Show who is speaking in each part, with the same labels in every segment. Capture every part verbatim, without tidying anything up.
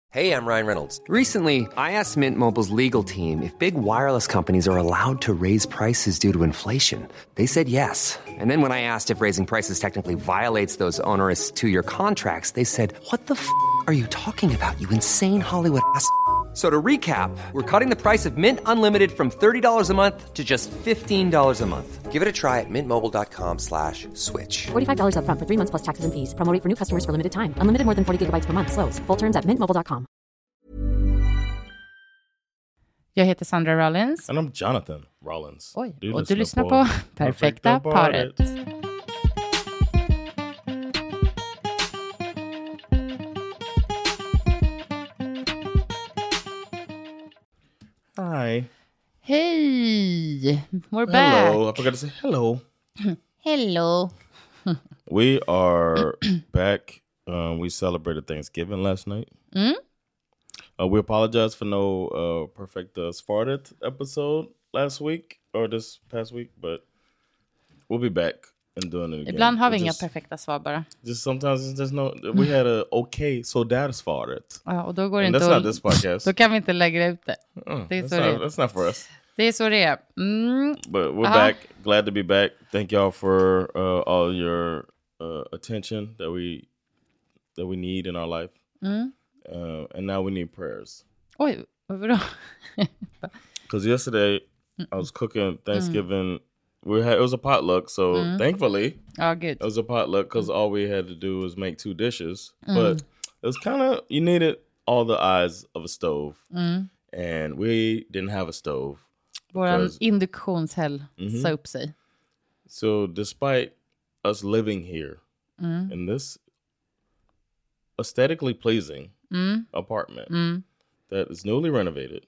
Speaker 1: Hey, I'm Ryan Reynolds.
Speaker 2: Recently, I asked Mint Mobile's legal team if big wireless companies are allowed to raise prices due to inflation. They said yes. And then when I asked if raising prices technically violates those onerous two-year contracts, they said, "What the f*** are you talking about, you insane Hollywood ass?" So to recap, we're cutting the price of Mint Unlimited from thirty dollars a month to just fifteen dollars a month.
Speaker 1: Give it a try at mintmobile.com slash switch.
Speaker 3: forty-five dollars up front for three months plus taxes and fees. Promo rate for new customers for limited time. Unlimited more than forty gigabytes per month. Slows full terms at mint mobile dot com.
Speaker 4: Jag heter Sandra Rollins.
Speaker 5: And I'm Jonathan Rollins.
Speaker 4: Oj,
Speaker 5: Du
Speaker 4: och du lyssnar på Perfekta paret.
Speaker 5: Hi.
Speaker 4: Hej! We're
Speaker 5: Hello.
Speaker 4: back.
Speaker 5: I forgot to say hello.
Speaker 4: Hello.
Speaker 5: We are back. Um, we celebrated Thanksgiving last night.
Speaker 4: Mm?
Speaker 5: Uh, we apologize for no uh, Perfecta Spartat episode last week or this past week, but we'll be back and doing it again.
Speaker 4: Ibland har vi
Speaker 5: But
Speaker 4: inga
Speaker 5: just,
Speaker 4: perfekta svar bara.
Speaker 5: Just sometimes it's just no. We had a okay, so that is Spartat.
Speaker 4: Ja, och då går det
Speaker 5: And
Speaker 4: inte
Speaker 5: that's
Speaker 4: att...
Speaker 5: not this podcast.
Speaker 4: Då kan vi inte lägga ut det.
Speaker 5: Uh,
Speaker 4: det är
Speaker 5: that's,
Speaker 4: så
Speaker 5: not,
Speaker 4: det är.
Speaker 5: that's not for us.
Speaker 4: Det är så det är. Mm.
Speaker 5: But we're
Speaker 4: Uh-huh.
Speaker 5: back. Glad to be back. Thank y'all for uh, all your uh, attention that we that we need in our life.
Speaker 4: Mm.
Speaker 5: Uh, and now we need prayers.
Speaker 4: Oj, vadå?
Speaker 5: Because yesterday I was cooking Thanksgiving. We had it was a potluck, so thankfully
Speaker 4: Ja, gud.
Speaker 5: it was a potluck because all we had to do was make two dishes. But it was kind of you needed all the eyes of a stove, and we didn't have a stove.
Speaker 4: Våran
Speaker 5: because-
Speaker 4: induktionshäll sa upp sig.
Speaker 5: So despite us living here in this aesthetically pleasing apartment that is newly renovated,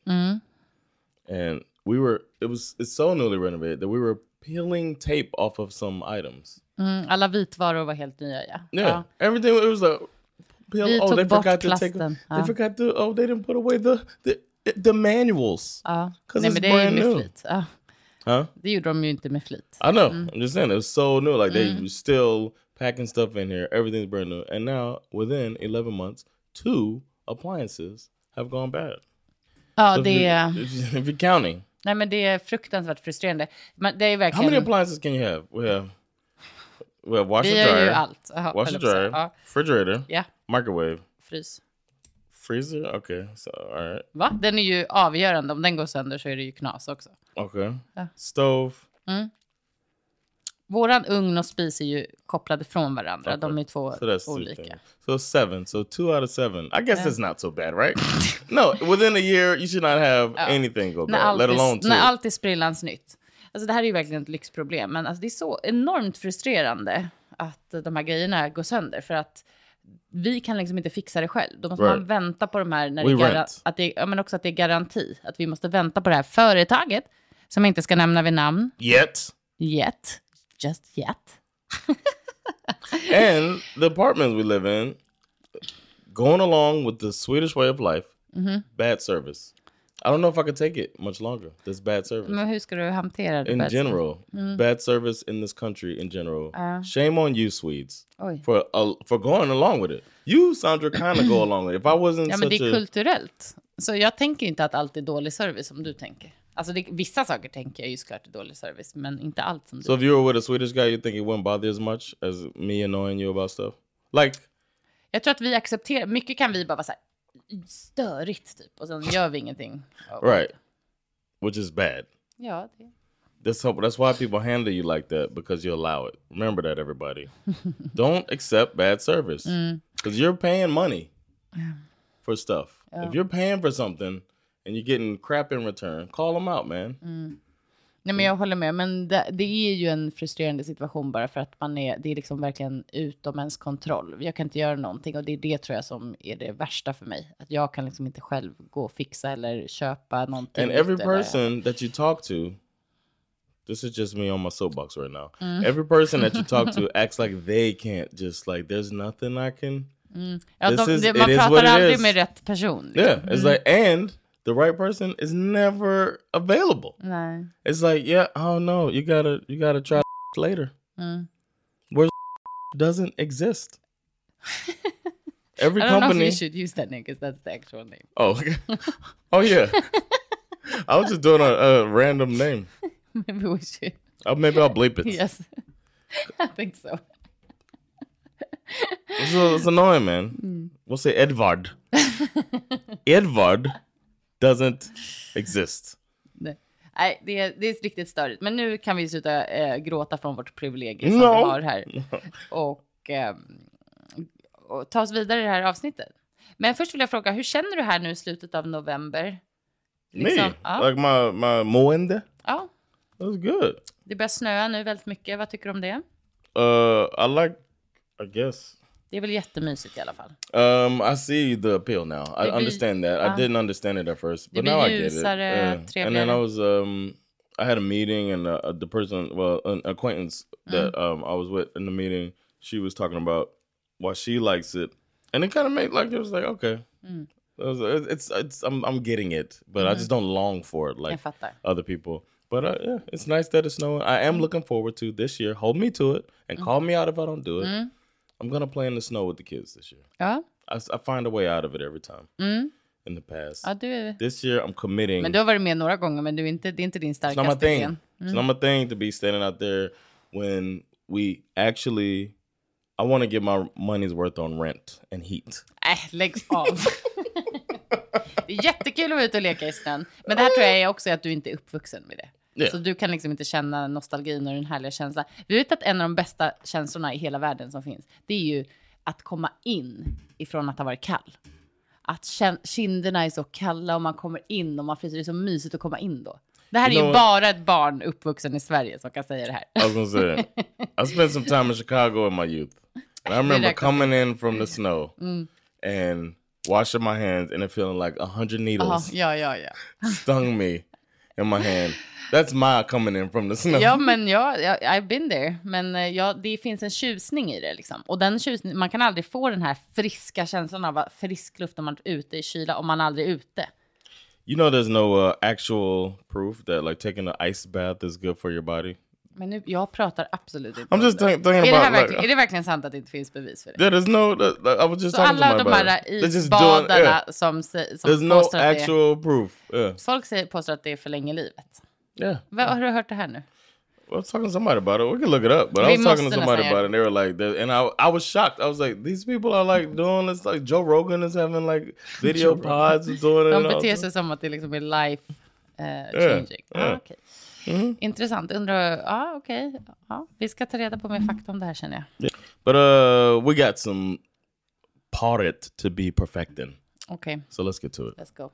Speaker 5: and we were it was it's so newly renovated that we were peeling tape off of some items.
Speaker 4: Mm, alla vitvaror var helt nya, ja.
Speaker 5: Yeah,
Speaker 4: Ja.
Speaker 5: everything it was a peel.
Speaker 4: Vi
Speaker 5: Oh,
Speaker 4: tog
Speaker 5: they
Speaker 4: bort
Speaker 5: forgot to take.
Speaker 4: plasten.
Speaker 5: They
Speaker 4: Ja.
Speaker 5: forgot to. Oh, they didn't put away the the the manuals.
Speaker 4: Ja.
Speaker 5: 'Cause
Speaker 4: Nej,
Speaker 5: it's
Speaker 4: men det är ju
Speaker 5: brand
Speaker 4: med
Speaker 5: new.
Speaker 4: flit. Ja.
Speaker 5: Huh?
Speaker 4: Det gjorde de ju inte med flit.
Speaker 5: I know. I'm just saying it was so new. Like they were still packing stuff in here. Everything's brand new. And now within eleven months, two appliances have gone bad.
Speaker 4: Ja,
Speaker 5: If
Speaker 4: det
Speaker 5: you-
Speaker 4: är...
Speaker 5: if you- if you're counting,
Speaker 4: Nej, men det är fruktansvärt frustrerande. Men det är
Speaker 5: how many
Speaker 4: verkligen...
Speaker 5: appliances can you have? We have we have washer
Speaker 4: Vi gör ju
Speaker 5: dryer,
Speaker 4: allt. Jaha,
Speaker 5: washer
Speaker 4: höll jag på att säga.
Speaker 5: dryer,
Speaker 4: Ja,
Speaker 5: refrigerator,
Speaker 4: ja,
Speaker 5: microwave,
Speaker 4: frys.
Speaker 5: freezer. Okay, so all right.
Speaker 4: Va? Den är ju avgörande. Om den går sönder så är det ju knas också.
Speaker 5: Okay,
Speaker 4: Ja.
Speaker 5: stove.
Speaker 4: Våran ugn och spis är ju kopplade från varandra.
Speaker 5: Okay.
Speaker 4: De är två
Speaker 5: So that's two
Speaker 4: olika.
Speaker 5: things. So seven. So two out of seven. I guess it's not so bad, right? No, within a year you should not have anything go
Speaker 4: När
Speaker 5: bad,
Speaker 4: allt,
Speaker 5: let alone
Speaker 4: är,
Speaker 5: two.
Speaker 4: när allt är sprillans nytt. Alltså det här är ju verkligen ett lyxproblem. Men alltså det är så enormt frustrerande att de här grejerna går sönder. För att vi kan liksom inte fixa det själv. Då måste
Speaker 5: Right.
Speaker 4: man vänta på de här. När
Speaker 5: We
Speaker 4: det är gara-
Speaker 5: rent.
Speaker 4: att det, ja, men också att det är garanti. Att vi måste vänta på det här företaget. Som jag inte ska nämna vid namn.
Speaker 5: Yet.
Speaker 4: Yet. Just yet.
Speaker 5: And the apartment we live in, going along with the Swedish way of life, bad service. I don't know if I could take it much longer. This bad service.
Speaker 4: Men hur ska du hantera det?
Speaker 5: In
Speaker 4: bäst?
Speaker 5: general, bad service in this country in general. Shame on you, Swedes,
Speaker 4: Oj.
Speaker 5: for uh, for going along with it. You, Sandra, kind of go along with it. If I wasn't
Speaker 4: Ja, men det
Speaker 5: such
Speaker 4: är
Speaker 5: a...
Speaker 4: kulturellt. Så jag tänker inte att allt är dålig service som du tänker. Alltså det, vissa saker tänker jag ju såklart är dålig service, men inte allt som du.
Speaker 5: So if you were with a Swedish guy, you think it wouldn't bother you as much as me annoying you about stuff? Like,
Speaker 4: Jag tror att vi accepterar, mycket kan vi bara vara så här störigt typ, och sen gör vi ingenting.
Speaker 5: right, which is bad.
Speaker 4: Ja, det.
Speaker 5: That's how, that's why people handle you like that, because you allow it. Remember that, everybody. Don't accept bad service because you're paying money for stuff. If you're paying for something and you're getting crap in return, call them out, man.
Speaker 4: Nej, men jag håller med, men det, det är ju en frustrerande situation bara för att man är, det är liksom verkligen utom ens kontroll. Jag kan inte göra någonting, och det är det tror jag som är det värsta för mig. Att jag kan liksom inte själv gå och fixa eller köpa någonting.
Speaker 5: And every
Speaker 4: nytt eller-
Speaker 5: person that you talk to, this is just me on my soapbox right now. Every person that you talk to acts like they can't just like, there's nothing I can.
Speaker 4: Ja,
Speaker 5: This
Speaker 4: de,
Speaker 5: is-
Speaker 4: det,
Speaker 5: it
Speaker 4: man
Speaker 5: is what
Speaker 4: pratar
Speaker 5: it
Speaker 4: aldrig
Speaker 5: is.
Speaker 4: med rätt person.
Speaker 5: Yeah, it's like, and the right person is never available.
Speaker 4: Nej.
Speaker 5: It's like, yeah, oh no, you gotta, you gotta try later. Where doesn't exist. every
Speaker 4: I don't
Speaker 5: company...
Speaker 4: know if you should use that name because that's the actual name.
Speaker 5: Oh, okay. Oh, yeah. I was just doing a, a random name.
Speaker 4: Maybe we should.
Speaker 5: Oh, maybe I'll bleep it.
Speaker 4: Yes. I think so.
Speaker 5: It's, it's annoying, man. Mm. We'll say Edvard. Edvard doesn't exist.
Speaker 4: Nej, Nej det, är, det är riktigt störigt. Men nu kan vi sluta äh, gråta från vårt privilegium som
Speaker 5: no.
Speaker 4: vi har här. Och, äh, och ta oss vidare i det här avsnittet. Men först vill jag fråga, hur känner du här nu i slutet av november?
Speaker 5: Liksom, Me? Ja. Like my, my mående?
Speaker 4: Ja.
Speaker 5: That was good.
Speaker 4: Det börjar snöa nu väldigt mycket. Vad tycker du om det?
Speaker 5: Uh, I like, I guess.
Speaker 4: Det är väl jättemysigt i alla fall.
Speaker 5: Um, I see the appeal now. I blir, understand that. Uh, I didn't understand it at first, but now I get it. Uh, and then I was, um, I had a meeting, and uh, the person, well, an acquaintance that mm. um, I was with in the meeting, she was talking about why she likes it, and it kind of made like it was like okay, mm. it was, it's it's I'm I'm getting it, but mm. I just don't long for it like other people. But uh, yeah, it's nice that it's snowing. I am mm. looking forward to this year. Hold me to it and mm. call me out if I don't do it. Mm. I'm gonna play in the snow with the kids this year.
Speaker 4: Ja.
Speaker 5: I, I find a way out of it every time.
Speaker 4: Mm.
Speaker 5: In the past.
Speaker 4: Ja, du...
Speaker 5: This year I'm committing.
Speaker 4: Men du har varit med några gånger, men du är inte, det är inte din starkaste
Speaker 5: gren. Mm. It's not my thing to be standing out there when we actually, I want to get my money's worth on rent and heat.
Speaker 4: Äh, lägg av. Det är jättekul att vara ute och leka i snön. Men det här tror jag är också att du inte är uppvuxen med det. Yeah. Så du kan liksom inte känna nostalgin och den härliga känslan. Vi vet att en av de bästa känslorna i hela världen som finns, det är ju att komma in ifrån att ha varit kall. Att kinderna är så kalla och man kommer in och man fryser. Det är så mysigt att komma in då. Det här you är ju bara ett barn uppvuxen i Sverige som kan säga det här.
Speaker 5: I was gonna say, I spent some time in Chicago in my youth. And I remember coming in from the snow mm. and washing my hands and it feeling like a hundred needles
Speaker 4: uh-huh. ja, ja, ja.
Speaker 5: stung me in my hand. That's my coming in from the snow.
Speaker 4: Ja, men ja, I've been there. Men ja, det finns en tjusning i det liksom. Och den tjusning, man kan aldrig få den här friska känslan av frisk luft när man är ute i kyla om man aldrig är ute.
Speaker 5: You know there's no uh, actual proof that like taking an ice bath is good for your body.
Speaker 4: Men nu, jag pratar absolut inte
Speaker 5: I'm just thinking about,
Speaker 4: är, det här verkligen, like, är det verkligen sant att det inte finns bevis för det?
Speaker 5: Yeah, there's no, that, I was just
Speaker 4: så
Speaker 5: talking
Speaker 4: alla
Speaker 5: to
Speaker 4: de
Speaker 5: my
Speaker 4: här isbadarna yeah. som, som
Speaker 5: there's no actual
Speaker 4: det,
Speaker 5: proof. Yeah.
Speaker 4: Folk säger, påstår att det förlänger livet.
Speaker 5: Yeah.
Speaker 4: Vad, har du hört det här nu?
Speaker 5: I was talking to somebody about it. We can look it up. But Vi I was talking to somebody about it and they were like, and I I was shocked. I was like, these people are like doing this, like Joe Rogan is having like video pods and doing it.
Speaker 4: De beter sig som att det liksom är life uh, changing. Yeah. Ah, okay. Mm-hmm. Intressant. Undrar, ja okej. Okay. Ja, vi ska ta reda på mer fakta om det här känner jag.
Speaker 5: Yeah. But uh, we got some part to be perfecting.
Speaker 4: Okay.
Speaker 5: So let's get to it.
Speaker 4: Let's go.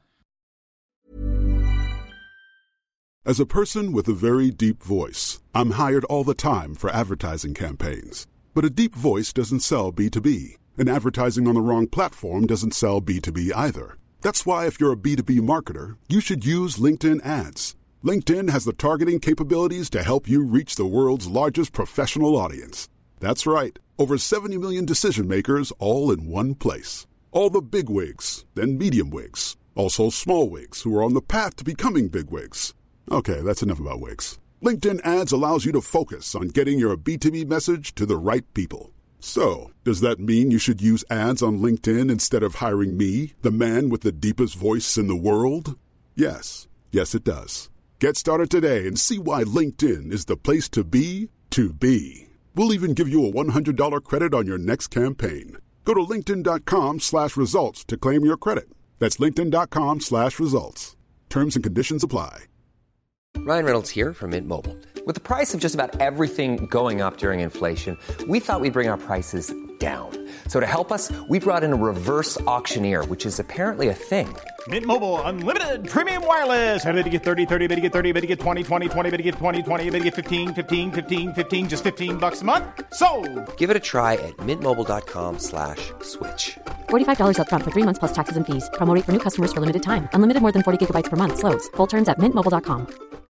Speaker 6: As a person with a very deep voice, I'm hired all the time for advertising campaigns. But a deep voice doesn't sell B two B, and advertising on the wrong platform doesn't sell B two B either. That's why if you're a B two B marketer, you should use LinkedIn ads. LinkedIn has the targeting capabilities to help you reach the world's largest professional audience. That's right, over seventy million decision makers all in one place. All the big wigs, then medium wigs, also small wigs who are on the path to becoming big wigs. Okay, that's enough about wigs. LinkedIn ads allows you to focus on getting your B two B message to the right people. So, does that mean you should use ads on LinkedIn instead of hiring me, the man with the deepest voice in the world? Yes. Yes, it does. Get started today and see why LinkedIn is the place to be to be. We'll even give you a one hundred dollars credit on your next campaign. Go to linkedin.com slash results to claim your credit. That's linkedin.com slash results. Terms and conditions apply.
Speaker 1: Ryan Reynolds here from Mint Mobile. With the price of just about everything going up during inflation, we thought we'd bring our prices down. So to help us, we brought in a reverse auctioneer, which is apparently a thing.
Speaker 7: Mint Mobile Unlimited Premium Wireless. How to get thirty, thirty, how to get thirty, how to get twenty, twenty, twenty, how to get twenty, twenty, how to get fifteen, fifteen, fifteen, fifteen, just fifteen bucks a month? Sold!
Speaker 1: Give it a try at mintmobile.com slash switch.
Speaker 3: forty-five dollars up front for three months plus taxes and fees. Promo rate for new customers for limited time. Unlimited more than forty gigabytes per month. Slows full terms at mint mobile dot com.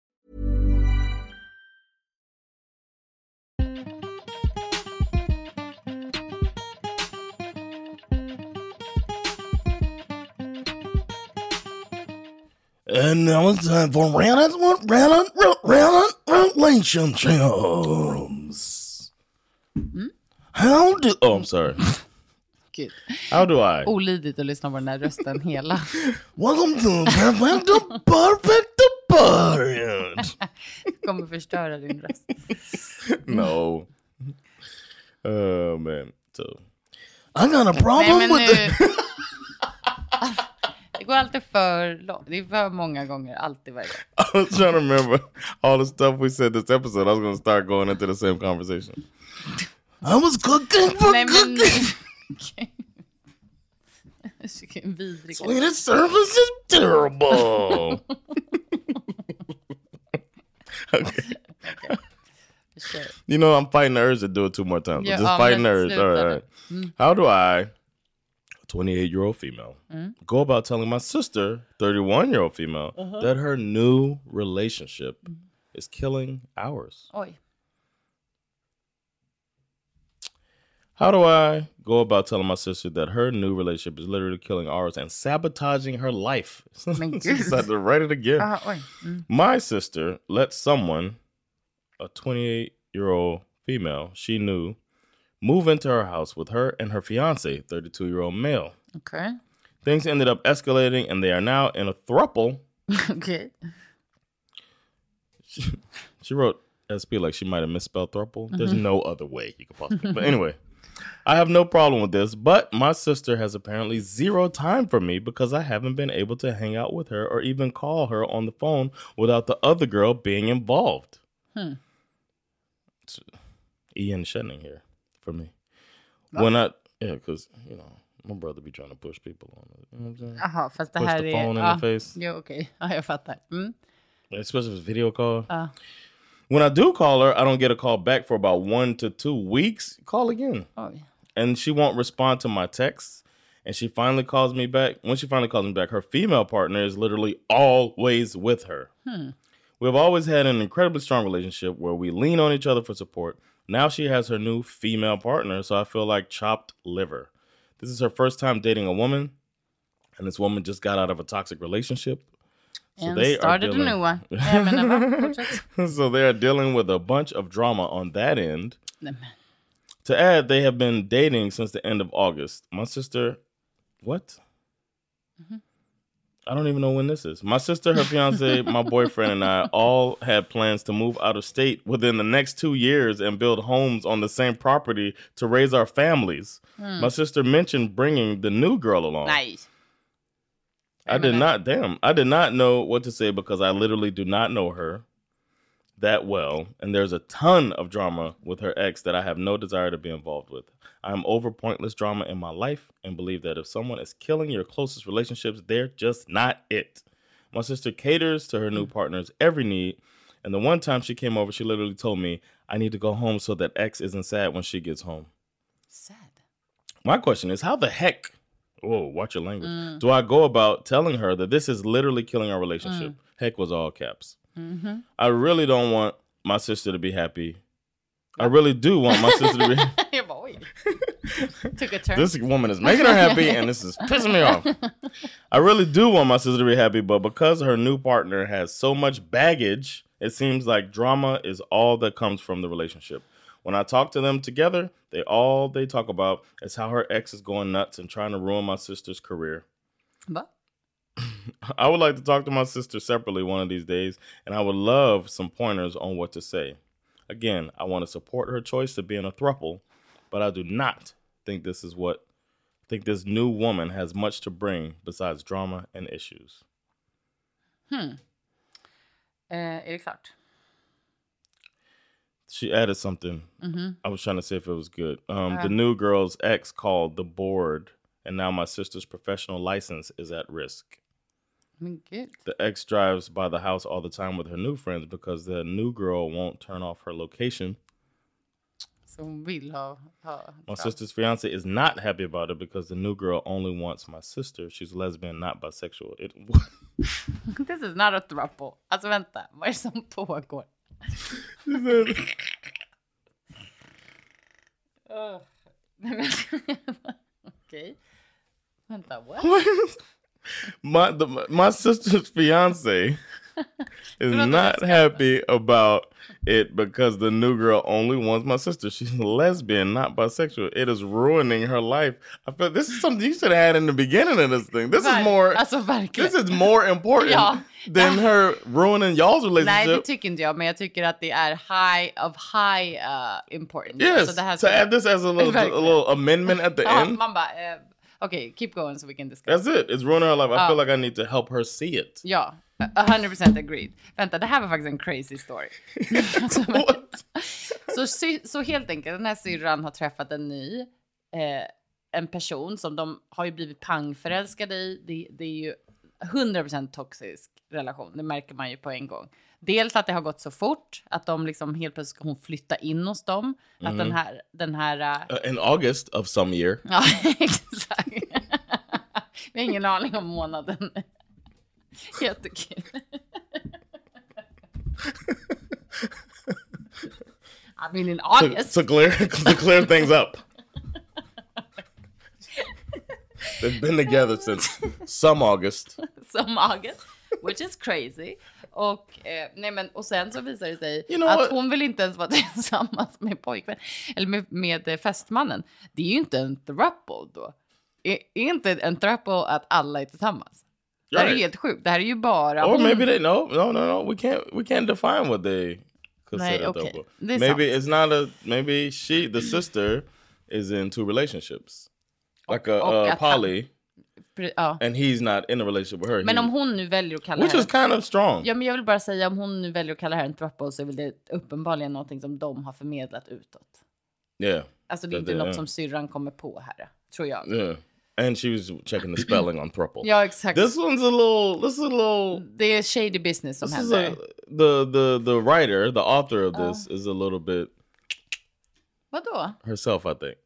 Speaker 5: And now it's time for Reynolds, Reynolds, Reynolds relationships. Hmm? How do? Oh, I'm sorry.
Speaker 4: Gud.
Speaker 5: How do I?
Speaker 4: Olidligt att lyssna på den här rösten hela.
Speaker 5: Welcome to the perfect parent.
Speaker 4: Kommer förstöra din röst.
Speaker 5: No. Oh man. So I got a problem
Speaker 4: Nej, men
Speaker 5: with
Speaker 4: nu...
Speaker 5: it.
Speaker 4: Det går alltid för långt. Det är för många gånger. Alltid varje gång.
Speaker 5: I was trying to remember all the stuff we said this episode. I was going to start going into the same conversation. I was cooking for
Speaker 4: Nej, men...
Speaker 5: cooking.
Speaker 4: Vilken vidrig.
Speaker 5: Swedish service is terrible. Okay.
Speaker 4: Okay. Sure.
Speaker 5: You know, I'm fighting the urge to do it two more times.
Speaker 4: Yeah,
Speaker 5: Just
Speaker 4: um,
Speaker 5: fighting the
Speaker 4: let's
Speaker 5: urge. All right, all right.
Speaker 4: Mm.
Speaker 5: How do I, a twenty-eight-year-old female,
Speaker 4: Mm.
Speaker 5: go about telling my sister, thirty-one-year-old female,
Speaker 4: Uh-huh.
Speaker 5: that her new relationship mm. is killing ours?
Speaker 4: Oj.
Speaker 5: How do I go about telling my sister that her new relationship is literally killing ours and sabotaging her life? She's had to write it again.
Speaker 4: Uh, oj. Mm.
Speaker 5: My sister let someone, a twenty-eight-year-old female she knew, move into her house with her and her fiance, thirty-two-year-old male.
Speaker 4: Okay.
Speaker 5: Things ended up escalating and they are now in a throuple.
Speaker 4: Okay.
Speaker 5: She, she wrote S P like she might have misspelled throuple. Mm-hmm. There's no other way you could possibly. But anyway, I have no problem with this, but my sister has apparently zero time for me because I haven't been able to hang out with her or even call her on the phone without the other girl being involved. Hmm. It's Ian Shenning here for me. Oh. When I, yeah, because, you know, my brother be trying to push people on it. You know what I'm saying?
Speaker 4: Aha, fast det
Speaker 5: push
Speaker 4: här
Speaker 5: the
Speaker 4: är...
Speaker 5: phone in
Speaker 4: ah,
Speaker 5: the face.
Speaker 4: Jo, okej. Okay. Ja, jag fattar. Mm.
Speaker 5: Especially if it's video call.
Speaker 4: Ah.
Speaker 5: When I do call her, I don't get a call back for about one to two weeks. Call again.
Speaker 4: Oh, yeah.
Speaker 5: And she won't respond to my texts. And she finally calls me back. When she finally calls me back, her female partner is literally always with her.
Speaker 4: Hmm.
Speaker 5: We've always had an incredibly strong relationship where we lean on each other for support. Now she has her new female partner, so I feel like chopped liver. This is her first time dating a woman, and this woman just got out of a toxic relationship. So
Speaker 4: and
Speaker 5: they
Speaker 4: started
Speaker 5: are dealing...
Speaker 4: a new one. Ja, men,
Speaker 5: so they are dealing with a bunch of drama on that end.
Speaker 4: Nej.
Speaker 5: To add, they have been dating since the end of August. My sister, what? Mm-hmm. I don't even know when this is. My sister, her fiance, my boyfriend, and I all had plans to move out of state within the next two years and build homes on the same property to raise our families. Hmm. My sister mentioned bringing the new girl along.
Speaker 4: Nice.
Speaker 5: I did not, damn, I did not know what to say because I literally do not know her that well. And there's a ton of drama with her ex that I have no desire to be involved with. I am over pointless drama in my life and believe that if someone is killing your closest relationships, they're just not it. My sister caters to her new partner's every need. And the one time she came over, she literally told me, I need to go home so that ex isn't sad when she gets home.
Speaker 4: Sad.
Speaker 5: My question is, how the heck, whoa, watch your language,
Speaker 4: Mm.
Speaker 5: do I go about telling her that this is literally killing our relationship? Mm. Heck was all caps. Mm-hmm. I really don't want my sister to be happy. I really do want my sister to be happy.
Speaker 4: Took a turn.
Speaker 5: This woman is making her happy and this is pissing me off. I really do want my sister to be happy, but because her new partner has so much baggage, it seems like drama is all that comes from the relationship. When I talk to them together, they all they talk about is how her ex is going nuts and trying to ruin my sister's career.
Speaker 4: What?
Speaker 5: I would like to talk to my sister separately one of these days, and I would love some pointers on what to say. Again, I want to support her choice to be in a throuple, but I do not think this is what think this new woman has much to bring besides drama and issues.
Speaker 4: Hmm. Uh, är det klart?
Speaker 5: She added something.
Speaker 4: Mm-hmm.
Speaker 5: I was trying to see if it was good. Um,
Speaker 4: Uh.
Speaker 5: The new girl's ex called the board, and now my sister's professional license is at risk.
Speaker 4: Men gud.
Speaker 5: The ex drives by the house all the time with her new friends because the new girl won't turn off her location.
Speaker 4: Så hon vill ha... ha
Speaker 5: My sister's fiance is not happy about it because the new girl only wants my sister. She's lesbian, not bisexual. It...
Speaker 4: This is not a throuple. Alltså vänta, vad är det som pågår? uh, Okej. Vänta, what?
Speaker 5: my, the, my sister's fiance is not happy about it because the new girl only wants my sister. She's a lesbian, not bisexual. It is ruining her life. I feel this is something you should have had in the beginning of this thing. This Ver- is more
Speaker 4: alltså, verkligen.
Speaker 5: This is more important ja. than her ruining y'all's relationship.
Speaker 4: Nej, det tycker inte jag, men jag tycker att det är high of high uh, importance.
Speaker 5: Yes, så det här to add this as a little, a little amendment at the
Speaker 4: ja,
Speaker 5: end.
Speaker 4: Man bara, uh, okay, keep going so we can discuss.
Speaker 5: That's it. It's ruining her life. I uh, feel like I need to help her see it.
Speaker 4: Ja, one hundred percent agreed. Vänta, det här var faktiskt en crazy story. så, så, så helt enkelt, den här syrran har träffat en ny, eh, en person som de har ju blivit pangförälskade i. Det, det är ju hundra procent toxisk relation, det märker man ju på en gång. Dels att det har gått så fort, att de liksom helt plötsligt ska hon flytta in hos dem. Mm-hmm. Att den här... Den här
Speaker 5: uh, in August of some year.
Speaker 4: Ja, exakt. Vi har ingen aning om månaden. Jättekul. I mean in August.
Speaker 5: To, to, clear, to clear things up. They've been together since some August.
Speaker 4: Some August, which is crazy. Och, eh, nej men, och sen så visar det sig
Speaker 5: you know
Speaker 4: att
Speaker 5: what?
Speaker 4: hon vill inte ens vara tillsammans med pojkvän. Eller med, med fästmannen. Det är ju inte en throuple då. Är, är inte en throuple att alla är tillsammans? Det här är helt sjukt. Det här är ju bara...
Speaker 5: Or
Speaker 4: hon...
Speaker 5: maybe they... No, no, no, no. We can't, we can't define what they consider
Speaker 4: nej, okay.
Speaker 5: throuple.
Speaker 4: Maybe
Speaker 5: sant. It's not a... Maybe she, the sister, is in two relationships. Like a,
Speaker 4: och,
Speaker 5: a poly.
Speaker 4: Han, ja.
Speaker 5: And he's not in a relationship with her.
Speaker 4: Men
Speaker 5: he,
Speaker 4: om hon nu väljer att kalla
Speaker 5: which
Speaker 4: här...
Speaker 5: is kind of strong.
Speaker 4: Ja, men jag vill bara säga, om hon nu väljer att kalla här en throuple så är väl det uppenbarligen någonting som de har förmedlat utåt.
Speaker 5: Yeah.
Speaker 4: Alltså det är inte
Speaker 5: they,
Speaker 4: något
Speaker 5: yeah.
Speaker 4: som syrran kommer på här, tror jag.
Speaker 5: Yeah. And she was checking the spelling on throuple.
Speaker 4: Ja, exakt.
Speaker 5: This one's a little... This is a little...
Speaker 4: Det är shady business som
Speaker 5: this
Speaker 4: händer.
Speaker 5: Is a, the, the, the writer, the author of this, uh. is a little bit...
Speaker 4: Vadå?
Speaker 5: Herself, I think.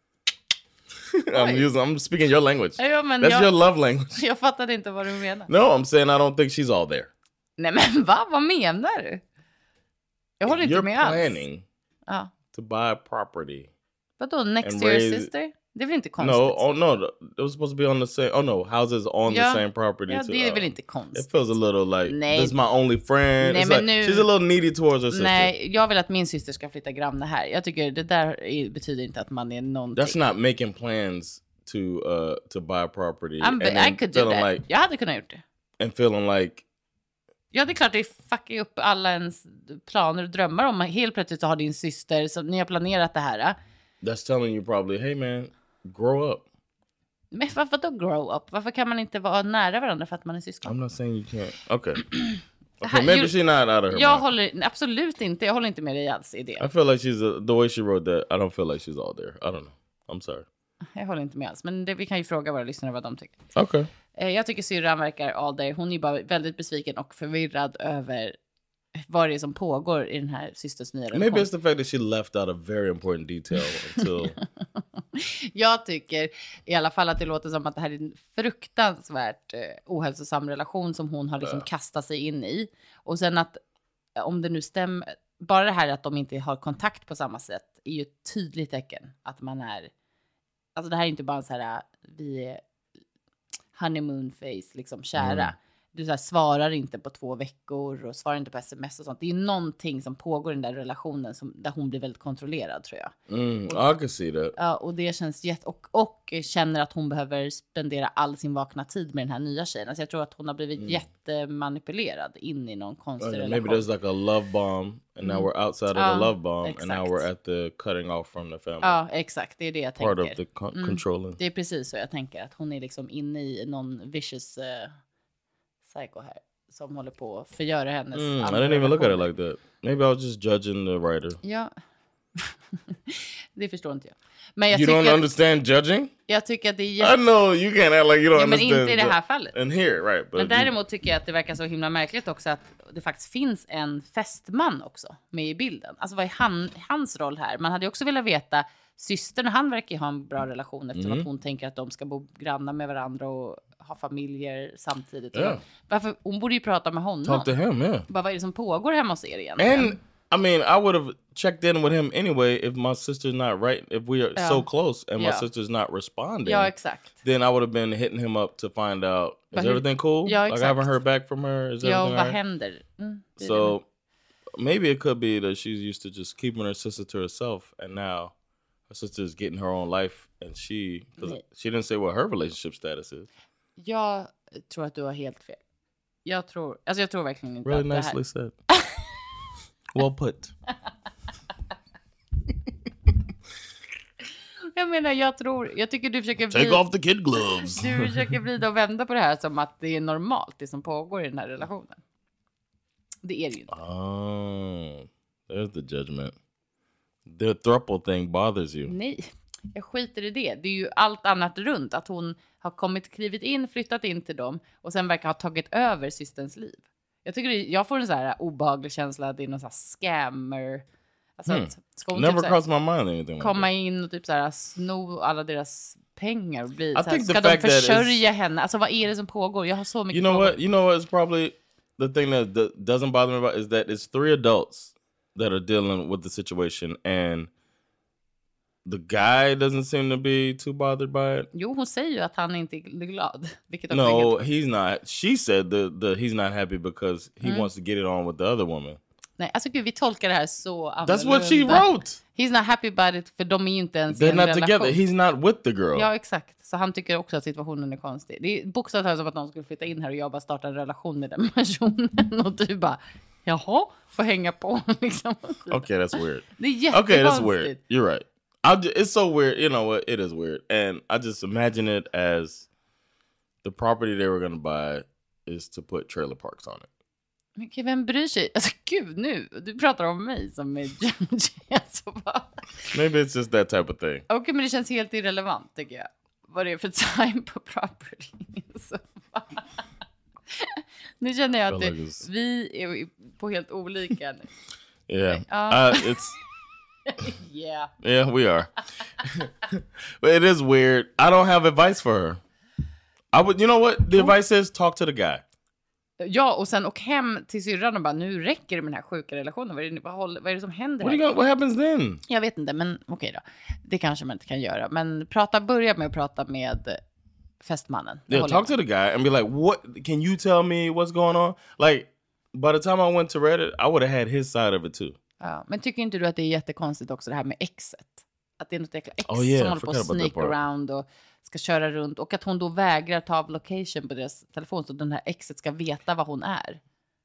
Speaker 5: I'm using. I'm speaking your language.
Speaker 4: Ja, men
Speaker 5: That's
Speaker 4: jag,
Speaker 5: your love language.
Speaker 4: Jag fattade inte vad du menar.
Speaker 5: No, I'm saying I don't think she's all there.
Speaker 4: Nej, men va? Vad menar du? Jag håller inte
Speaker 5: You're
Speaker 4: med alls.
Speaker 5: You're planning
Speaker 4: ja.
Speaker 5: to buy a property.
Speaker 4: Vadå? Next to your sister? Det är väl inte konstigt?
Speaker 5: No, oh no, it was supposed to be on the same. Oh no, houses on
Speaker 4: ja.
Speaker 5: the same property.
Speaker 4: Ja,
Speaker 5: to,
Speaker 4: det är
Speaker 5: uh,
Speaker 4: väl inte konstigt.
Speaker 5: It feels a little like
Speaker 4: Nej.
Speaker 5: this is my only friend.
Speaker 4: Nej,
Speaker 5: It's
Speaker 4: men
Speaker 5: like,
Speaker 4: nu,
Speaker 5: she's a little needy towards her sister.
Speaker 4: Nej, jag vill att min syster ska flytta granne här. Jag tycker det där är, betyder inte att man är någonting.
Speaker 5: That's not making plans to uh to buy a property.
Speaker 4: I'm, and I could do that. Like, jag hade kunnat gjort det.
Speaker 5: And feeling like...
Speaker 4: Ja, det är klart det fuckar upp alla ens planer och drömmar om man helt plötsligt har din syster som ni har planerat det här.
Speaker 5: That's telling you probably, hey man, grow up.
Speaker 4: Men varför då grow up? Varför kan man inte vara nära varandra för att man är syskon?
Speaker 5: I'm not saying you can't. Okay. Okay, maybe you, she's not out of her
Speaker 4: Jag
Speaker 5: mind.
Speaker 4: håller absolut inte. Jag håller inte med dig alls i det.
Speaker 5: I feel like she's a, the way she wrote that. I don't feel like she's all there. I don't know. I'm sorry.
Speaker 4: Jag håller inte med alls. Men det, vi kan ju fråga våra lyssnare vad de tycker.
Speaker 5: Okay.
Speaker 4: Eh, jag tycker syrran verkar all there. Hon är bara väldigt besviken och förvirrad över vad det är som pågår i den här systers nya relation.
Speaker 5: Maybe it's the fact that she left out a very important detail until...
Speaker 4: Jag tycker i alla fall att det låter som att det här är en fruktansvärt eh, ohälsosam relation som hon har liksom kastat sig in i. Och sen att om det nu stämmer, bara det här att de inte har kontakt på samma sätt är ju ett tydligt tecken att man är, alltså det här är inte bara så här, vi är honeymoon face, liksom kära. Mm. Du så här, svarar inte på två veckor och svarar inte på sms och sånt. Det är någonting som pågår i den där relationen som, där hon blir väldigt kontrollerad, tror jag.
Speaker 5: Mm,
Speaker 4: och,
Speaker 5: I can see that.
Speaker 4: Ja, och det känns jätte... Och, och känner att hon behöver spendera all sin vakna tid med den här nya tjejen. Alltså jag tror att hon har blivit mm. jättemanipulerad in i någon konstig
Speaker 5: okay,
Speaker 4: relation.
Speaker 5: Maybe there's like a love bomb and now we're outside of
Speaker 4: ja,
Speaker 5: the love bomb
Speaker 4: exakt.
Speaker 5: and now we're at the cutting off from the family.
Speaker 4: Ja, exakt. Det är det jag
Speaker 5: Part
Speaker 4: tänker.
Speaker 5: of the con-
Speaker 4: mm.
Speaker 5: controlling.
Speaker 4: Det är precis så jag tänker. Att hon är liksom inne i någon vicious... Uh, psycho här som håller på att förgöra hennes
Speaker 5: mm, I didn't even look at it like that. Maybe I was just judging the writer.
Speaker 4: Ja. Det förstår inte jag. Men jag
Speaker 5: you
Speaker 4: tycker
Speaker 5: don't understand judging?
Speaker 4: Jag tycker att det är jätte...
Speaker 5: I know you can't act like you don't
Speaker 4: ja,
Speaker 5: understand.
Speaker 4: Men inte i det här fallet.
Speaker 5: And here, right. But
Speaker 4: men däremot tycker jag att det verkar så himla märkligt också att det faktiskt finns en fästman också med i bilden. Alltså vad är han, hans roll här? Man hade ju också velat veta, systern och han verkar ju ha en bra relation eftersom mm. att hon tänker att de ska bo grannar med varandra och ha familjer samtidigt.
Speaker 5: Yeah.
Speaker 4: Varför, hon borde ju prata med honom.
Speaker 5: Talk to him, yeah.
Speaker 4: Bara, vad är det som pågår hemma hos er egentligen?
Speaker 5: And I mean, I would have checked in with him anyway if my sister's not right. If we are
Speaker 4: Yeah.
Speaker 5: so close and my
Speaker 4: Yeah.
Speaker 5: sister's not responding.
Speaker 4: Ja, exakt.
Speaker 5: Then I would have been hitting him up to find out, is
Speaker 4: But he-
Speaker 5: everything cool?
Speaker 4: Ja,
Speaker 5: Like I haven't
Speaker 4: exakt.
Speaker 5: heard back from her. Is
Speaker 4: Ja,
Speaker 5: everything
Speaker 4: vad
Speaker 5: all right?
Speaker 4: händer? Mm, det är
Speaker 5: So maybe it could be that she's used to just keeping her sister to herself, and now her sister is getting her own life, and she 'cause
Speaker 4: Nej.
Speaker 5: she didn't say what her relationship status is.
Speaker 4: det. Jag tror att du har helt fel. Jag tror, alltså jag tror verkligen inte
Speaker 5: Really
Speaker 4: att det här...
Speaker 5: nicely said. Well put.
Speaker 4: Jag menar, jag tror, jag tycker du försöker
Speaker 5: Take
Speaker 4: vrida,
Speaker 5: off the kid gloves.
Speaker 4: du försöker vrida och vända på det här som att det är normalt, det som pågår i den här relationen. Det är det ju inte.
Speaker 5: Oh, there's the judgment. The thruple thing bothers you.
Speaker 4: Nej, jag skiter i det. Det är ju allt annat runt. Att hon har kommit, klivit in, flyttat in till dem och sen verkar ha tagit över systerns liv. Jag tycker det, jag får en så här obehaglig känsla att det är någon så här scammer. Alltså
Speaker 5: Hmm.
Speaker 4: att ska hon
Speaker 5: Never
Speaker 4: typ så här
Speaker 5: crossed my mind anything like
Speaker 4: komma
Speaker 5: that.
Speaker 4: in och typ så här sno alla deras pengar och bli
Speaker 5: I
Speaker 4: så här,
Speaker 5: think the
Speaker 4: ska de
Speaker 5: fact that
Speaker 4: försörja henne? Alltså vad är det som pågår? Jag har så mycket
Speaker 5: You know
Speaker 4: frågor.
Speaker 5: what? You know what's probably the thing that d- doesn't bother me about is that it's three adults that are dealing with the situation, and the guy doesn't seem to be too bothered by it.
Speaker 4: Jo, hon säger ju att han inte är glad. Vilket också är
Speaker 5: No,
Speaker 4: helt...
Speaker 5: he's not. She said the the he's not happy because he
Speaker 4: Mm.
Speaker 5: wants to get it on with the other woman.
Speaker 4: Nej, alltså gud, vi tolkar det här så annorlunda.
Speaker 5: That's what she wrote.
Speaker 4: He's not happy about it, för de är ju inte ens i
Speaker 5: They're
Speaker 4: en
Speaker 5: not
Speaker 4: relation.
Speaker 5: together. He's not with the girl.
Speaker 4: Ja, exakt. Så han tycker också att situationen är konstig. Det är bokstavligt talat som att någon skulle flytta in här och jag bara starta en relation med den personen. Och du bara, jaha, får hänga på liksom.
Speaker 5: Okay, that's weird.
Speaker 4: Det är jättekonstigt.
Speaker 5: Okay, that's weird. You're right. I ju- it's so weird. You know what? It is weird, and I just imagine it as the property they were going to buy is to put trailer parks on it.
Speaker 4: Men okej, vem bryr sig? Alltså gud, nu, du pratar om mig som är judge. Alltså, bara...
Speaker 5: Maybe it's just that type of thing.
Speaker 4: Okej, men det känns helt irrelevant tycker jag. Vad det är för time på property. Så, bara... Nu känner jag att
Speaker 5: I
Speaker 4: det,
Speaker 5: feel like it's-
Speaker 4: vi är på helt olika nu.
Speaker 5: Yeah,
Speaker 4: Uh,
Speaker 5: uh, it's
Speaker 4: Yeah.
Speaker 5: yeah, we are. But it is weird. I don't have advice for her. I would, you know what? The advice is talk to the guy.
Speaker 4: Ja, och sen åk hem till syrran och bara, nu räcker det med den här sjuka relationen. Vad är det, vad håller, vad är det som händer
Speaker 5: What, are
Speaker 4: här?
Speaker 5: you gonna, what happens then?
Speaker 4: Jag vet inte, men okej då. Det kanske man inte kan göra. Men prata, börja med att prata med fästmannen. Det
Speaker 5: Yeah,
Speaker 4: håller
Speaker 5: talk
Speaker 4: jag
Speaker 5: to the guy and be like, "What? Can you tell me what's going on?" Like, by the time I went to Reddit, I would have had his side of it too.
Speaker 4: Ja, men tycker inte du att det är jättekonstigt också det här med exet? Att det är något jäkla ex
Speaker 5: Oh, yeah,
Speaker 4: som
Speaker 5: I
Speaker 4: håller på
Speaker 5: forgot
Speaker 4: att
Speaker 5: about that
Speaker 4: sneak
Speaker 5: part.
Speaker 4: around och ska köra runt. Och att hon då vägrar ta av location på deras telefon så att den här exet ska veta vad hon är.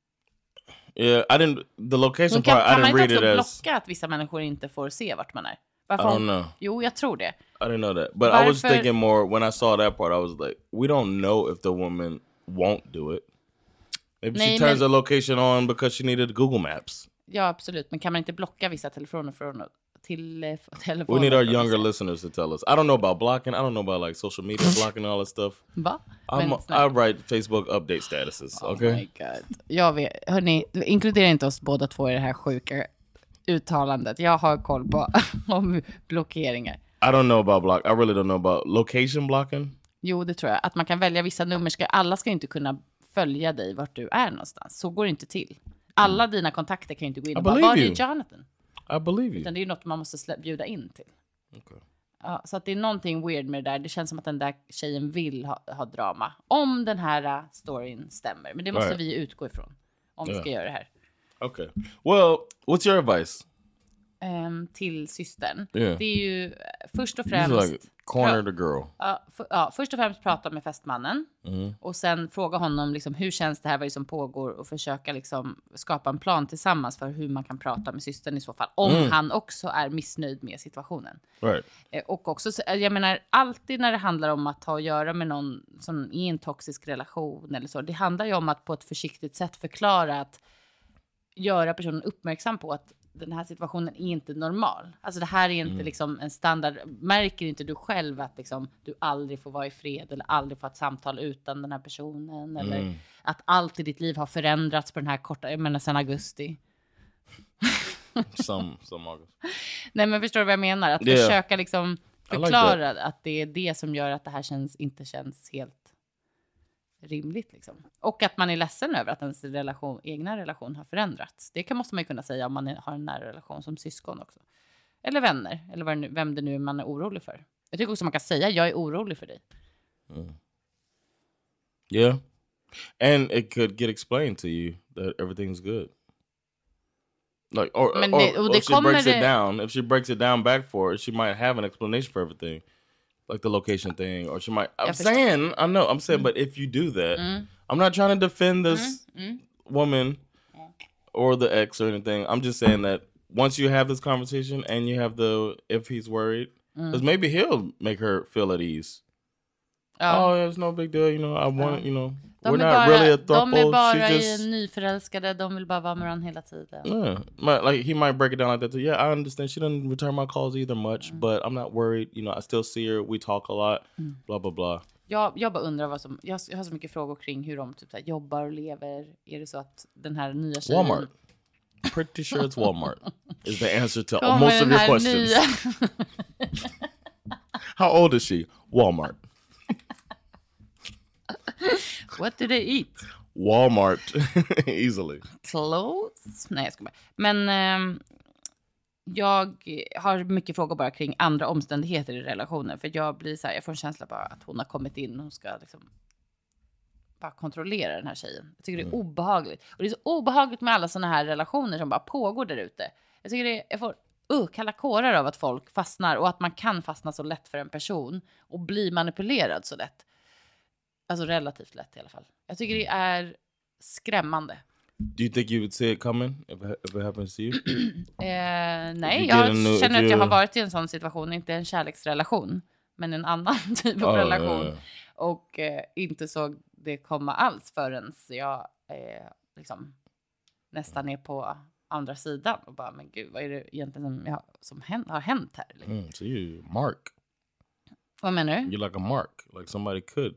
Speaker 5: Yeah, I didn't. The location
Speaker 4: Hon kan,
Speaker 5: part, I
Speaker 4: kan man
Speaker 5: didn't read
Speaker 4: inte
Speaker 5: it
Speaker 4: också
Speaker 5: as.
Speaker 4: blocka att vissa människor inte får se vart man är?
Speaker 5: I
Speaker 4: Varför
Speaker 5: don't
Speaker 4: hon...
Speaker 5: know.
Speaker 4: Jo, jag tror det.
Speaker 5: I didn't know that, but I was
Speaker 4: Varför-
Speaker 5: thinking more when I saw that part. I was like, we don't know if the woman won't do it. Maybe
Speaker 4: Nej,
Speaker 5: she turns
Speaker 4: men-
Speaker 5: the location on because she needed Google Maps.
Speaker 4: Ja, absolut. Men kan man inte blocka vissa telefoner från till eh,
Speaker 5: We
Speaker 4: telefoner?
Speaker 5: need our
Speaker 4: från
Speaker 5: younger
Speaker 4: vissa?
Speaker 5: listeners to tell us. I don't know about blocking. I don't know about like social media blocking and all that stuff.
Speaker 4: Va?
Speaker 5: I'm,
Speaker 4: Men
Speaker 5: I
Speaker 4: snälla.
Speaker 5: write Facebook update statuses.
Speaker 4: Oh
Speaker 5: Okay.
Speaker 4: my god. Jag vet, hörni, inkludera inte oss båda två i det här sjuka uttalandet. Jag har koll på om blockeringar.
Speaker 5: I don't know about block. I really don't know about location blocking.
Speaker 4: Jo, det tror jag. Att man kan välja vissa nummer. Ska, alla ska inte kunna följa dig vart du är någonstans. Så går det inte till. Alla dina kontakter kan ju inte gå in
Speaker 5: I
Speaker 4: och bara,
Speaker 5: believe
Speaker 4: var är
Speaker 5: you.
Speaker 4: Jonathan?
Speaker 5: I believe you.
Speaker 4: Utan det är ju något man måste slä- bjuda in till.
Speaker 5: Okay.
Speaker 4: Ja, så att det är någonting weird med det där. Det känns som att den där tjejen vill ha, ha drama. Om den här uh, storyn stämmer. Men det måste
Speaker 5: Right.
Speaker 4: vi utgå ifrån. Om vi
Speaker 5: Yeah.
Speaker 4: ska göra det här.
Speaker 5: Okay. Well, what's your advice?
Speaker 4: Ehm, till systern.
Speaker 5: Yeah.
Speaker 4: Det är ju eh, först och
Speaker 5: You
Speaker 4: främst...
Speaker 5: like corner the girl.
Speaker 4: Ja, för, ja, först och främst prata med fästmannen.
Speaker 5: Mm.
Speaker 4: Och sen fråga honom liksom, hur känns det här, vad är det som pågår. Och försöka liksom, skapa en plan tillsammans för hur man kan prata med systern i så fall. Om
Speaker 5: Mm.
Speaker 4: han också är missnöjd med situationen.
Speaker 5: Right.
Speaker 4: Eh, Och också, så- jag menar, alltid när det handlar om att ha att göra med någon som är i en toxisk relation eller så. Det handlar ju om att på ett försiktigt sätt förklara att göra personen uppmärksam på att den här situationen är inte normal. Alltså det här är inte
Speaker 5: Mm.
Speaker 4: liksom en standard. Märker inte du själv att liksom, du aldrig får vara i fred eller aldrig får ett samtal utan den här personen? Eller
Speaker 5: Mm.
Speaker 4: att allt i ditt liv har förändrats på den här korta, jag menar sedan augusti.
Speaker 5: some some August.
Speaker 4: Nej, men förstår du vad jag menar? Att
Speaker 5: Yeah.
Speaker 4: försöka liksom
Speaker 5: like
Speaker 4: förklara att det är det som gör att det här känns, inte känns helt rimligt liksom. Och att man är ledsen över att ens relation, egna relation har förändrats. Det kan, måste man ju kunna säga om man är, har en nära relation som syskon också. Eller vänner, eller vad, vem det nu är man är orolig för. Jag tycker också man kan säga, jag är orolig för dig.
Speaker 5: Mm. Yeah. And it could get explained to you that everything's good. Like, or,
Speaker 4: Men
Speaker 5: or,
Speaker 4: det, och
Speaker 5: or
Speaker 4: det
Speaker 5: if she breaks
Speaker 4: det...
Speaker 5: it down, if she breaks it down back for her, she might have an explanation for everything. Like the location thing, or she might, I'm saying, I know, I'm saying, mm. but if you do that, mm. I'm not trying to defend this mm. Mm. woman or the ex or anything. I'm just saying that once you have this conversation and you have the, if he's worried, because mm. maybe he'll make her feel at ease. Oh, oh yeah, it's no big deal, you know, I want, oh. you know,
Speaker 4: de
Speaker 5: we're not
Speaker 4: bara,
Speaker 5: really a throuple.
Speaker 4: De är bara
Speaker 5: She just,
Speaker 4: nyförälskade, de vill bara vara med varandra hela tiden.
Speaker 5: Yeah, like he might break it down like that too. Yeah, I understand. She doesn't return my calls either much, mm. but I'm not worried. You know, I still see her. We talk a lot. Mm. Blah blah blah.
Speaker 4: Jag, jag bara undrar vad som, jag, jag har så mycket frågor kring hur de typ så här, jobbar och lever. Är det så att den här nya tjejen...
Speaker 5: Walmart. Pretty sure it's Walmart is the answer to most of your questions. Nya... How old is she? Walmart.
Speaker 4: What do they eat?
Speaker 5: Walmart. Easily.
Speaker 4: Clothes? Nej, jag ska bara. Men eh, jag har mycket frågor bara kring andra omständigheter i relationen. För jag blir så här, jag får en känsla bara att hon har kommit in och hon ska liksom bara kontrollera den här tjejen. Jag tycker det är mm. obehagligt. Och det är så obehagligt med alla såna här relationer som bara pågår där ute. Jag tycker det är, jag får uh, kalla kårar av att folk fastnar och att man kan fastna så lätt för en person och bli manipulerad så lätt. Alltså relativt lätt i alla fall. Jag tycker det är skrämmande.
Speaker 5: Do you think you would see it coming if it, if it happens to you?
Speaker 4: eh, nej, jag new, känner att jag har varit i en sån situation. Inte en kärleksrelation, men en annan typ av oh, relation. Yeah. Och eh, inte såg det komma alls förrän jag eh, liksom, nästan är på andra sidan. Och bara, men gud, vad är det egentligen som, jag, som hänt, har hänt här? Liksom.
Speaker 5: Mm, so you Mark.
Speaker 4: Vad menar du?
Speaker 5: You're like a mark, like somebody could.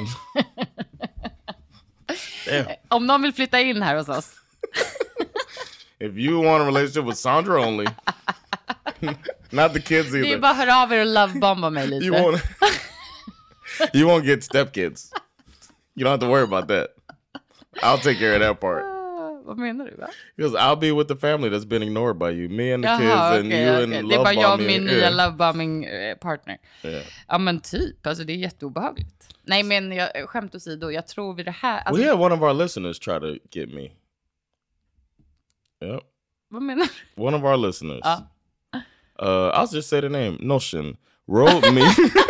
Speaker 4: Om någon vill flytta in här hos oss.
Speaker 5: If you want a relationship with Sandra only. Not the kids either.
Speaker 4: Det är bara hör av er och lovebomba mig lite.
Speaker 5: You won't, you won't get stepkids. You don't have to worry about that. I'll take care of that part.
Speaker 4: Vad menar du, va?
Speaker 5: Because I'll be with the family that's been ignored by you. Me and the Jaha, kids and okay, you okay. and
Speaker 4: Det är bara jag och min nya
Speaker 5: yeah.
Speaker 4: lovebombing partner.
Speaker 5: Yeah.
Speaker 4: Ja, men typ. Alltså det är jätteobehagligt. Nej, men jag, skämt åsido, jag tror vid det här... Alltså,
Speaker 5: we had one of our listeners try to get me. Yep.
Speaker 4: Vad menar
Speaker 5: du? One of our listeners. Ja. Uh, I'll just say the name. Notion. Wrote me.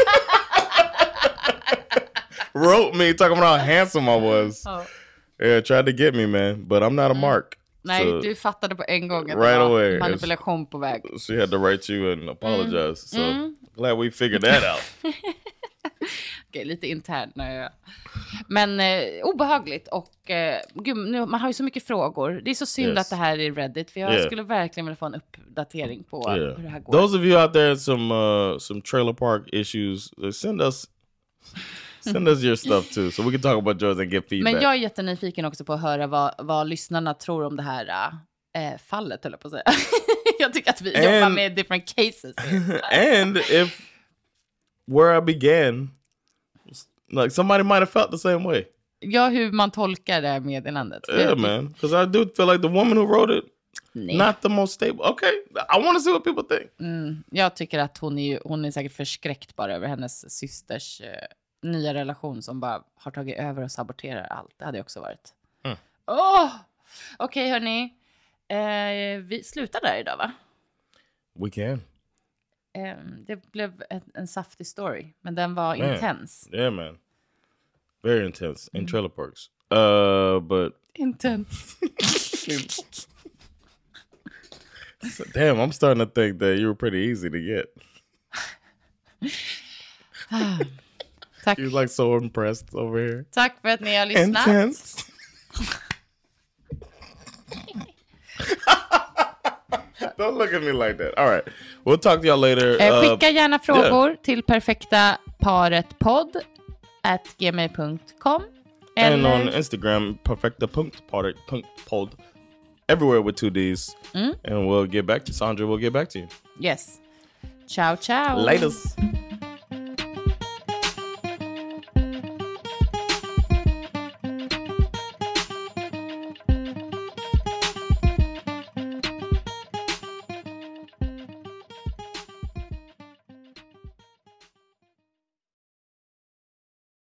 Speaker 5: wrote me talking about how handsome I was. Oh. Yeah, tried to get me, man, but I'm not a mark.
Speaker 4: Nej, so, du fattade på en gång att
Speaker 5: right
Speaker 4: det var
Speaker 5: away.
Speaker 4: manipulation på väg.
Speaker 5: She had to write you and apologize. Mm. So mm. glad we figured that out.
Speaker 4: Okej, lite internt. Jag... Men eh, obehagligt och eh, gud, nu, man har ju så mycket frågor. Det är så synd yes. att det här är Reddit, för jag yeah. skulle verkligen vilja få en uppdatering på yeah. hur det här går.
Speaker 5: Those of you out there some uh, some trailer park issues, send us Send us your stuff too, so we can talk about yours and get feedback.
Speaker 4: Men jag är jättenyfiken också på att höra vad, vad lyssnarna tror om det här äh, fallet, höll jag på att säga. Jag tycker att vi and, jobbar med different cases.
Speaker 5: And if where I began, like somebody might have felt the same way.
Speaker 4: Ja, hur man tolkar det här meddelandet.
Speaker 5: Yeah, man. Because I do feel like the woman who wrote it, Nej. not the most stable. Okay, I want to see what people think.
Speaker 4: Mm, jag tycker att hon är, hon är säkert förskräckt bara över hennes systers... Uh, nya relation som bara har tagit över och saboterar allt. Det hade jag också varit. Mm. Oh! Okej, okay, hörni. Eh, vi slutar där idag, va?
Speaker 5: We can.
Speaker 4: Eh, det blev en, en saftig story. Men den var man. intens.
Speaker 5: Yeah, man. Very intense. In mm. trailer parks. Uh, but...
Speaker 4: Intense.
Speaker 5: Damn, I'm starting to think that you were pretty easy to get.
Speaker 4: Tack.
Speaker 5: You're like so impressed over here.
Speaker 4: Tack för att ni har lyssnat.
Speaker 5: Intense. Don't look at me like that. All right. We'll talk to y'all later.
Speaker 4: Eh, skicka gärna frågor yeah. till perfektaparetpodd at gmail dot com.
Speaker 5: And on Instagram, perfekta.paret.podd. Everywhere with two D's. Mm. And we'll get back to Sandra. We'll get back to you.
Speaker 4: Yes. Ciao, ciao.
Speaker 5: Laters.